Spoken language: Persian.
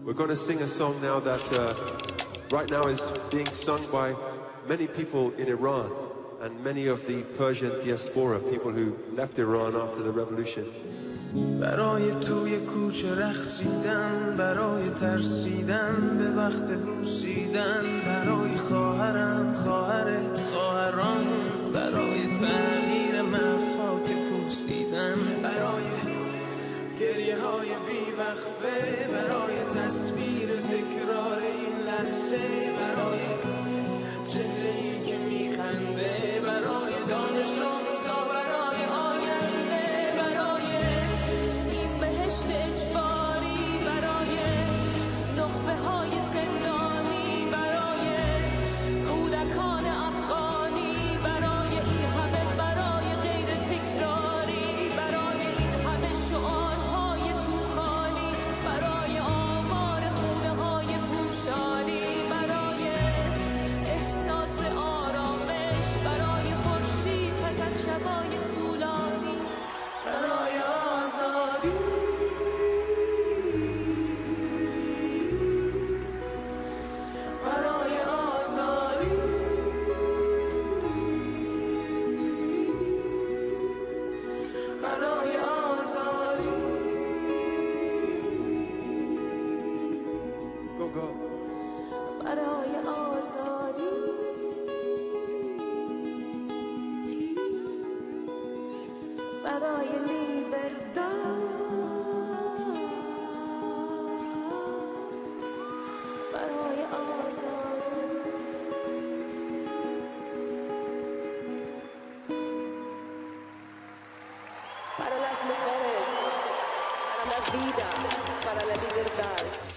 We're going to sing a song now that right now is being sung by many people in Iran and many of the Persian diaspora, people who left Iran after the revolution. برای توی کوچه رقصیدن، برای ترسیدن به وقت بوسیدن، برای خواهرم، خواهرت، خواهران، برای تغییر مغزها که پوسیدن، برای گریه های بیوقفه، برای تصویر تکرار این لحظه، برای چهره‌ای که میخنده، برای دانش آموزا، برای آینده، برای این بهشت اجباری، برای نخبه های زندانی، برای کودکان افغانی، برای این همه، برای غیر تکراری، برای این همه شعارهای توخالی، برای آمار خونه های پوشالی، برای احساس آرامش، برای خورشید پس از شبای طولانی، برای آزادی، برای آزادی، برای آزادی، Go, go. برای آزادی، برای لیبرداد، برای آزادی. Para las mujeres, para la vida, para la libertad.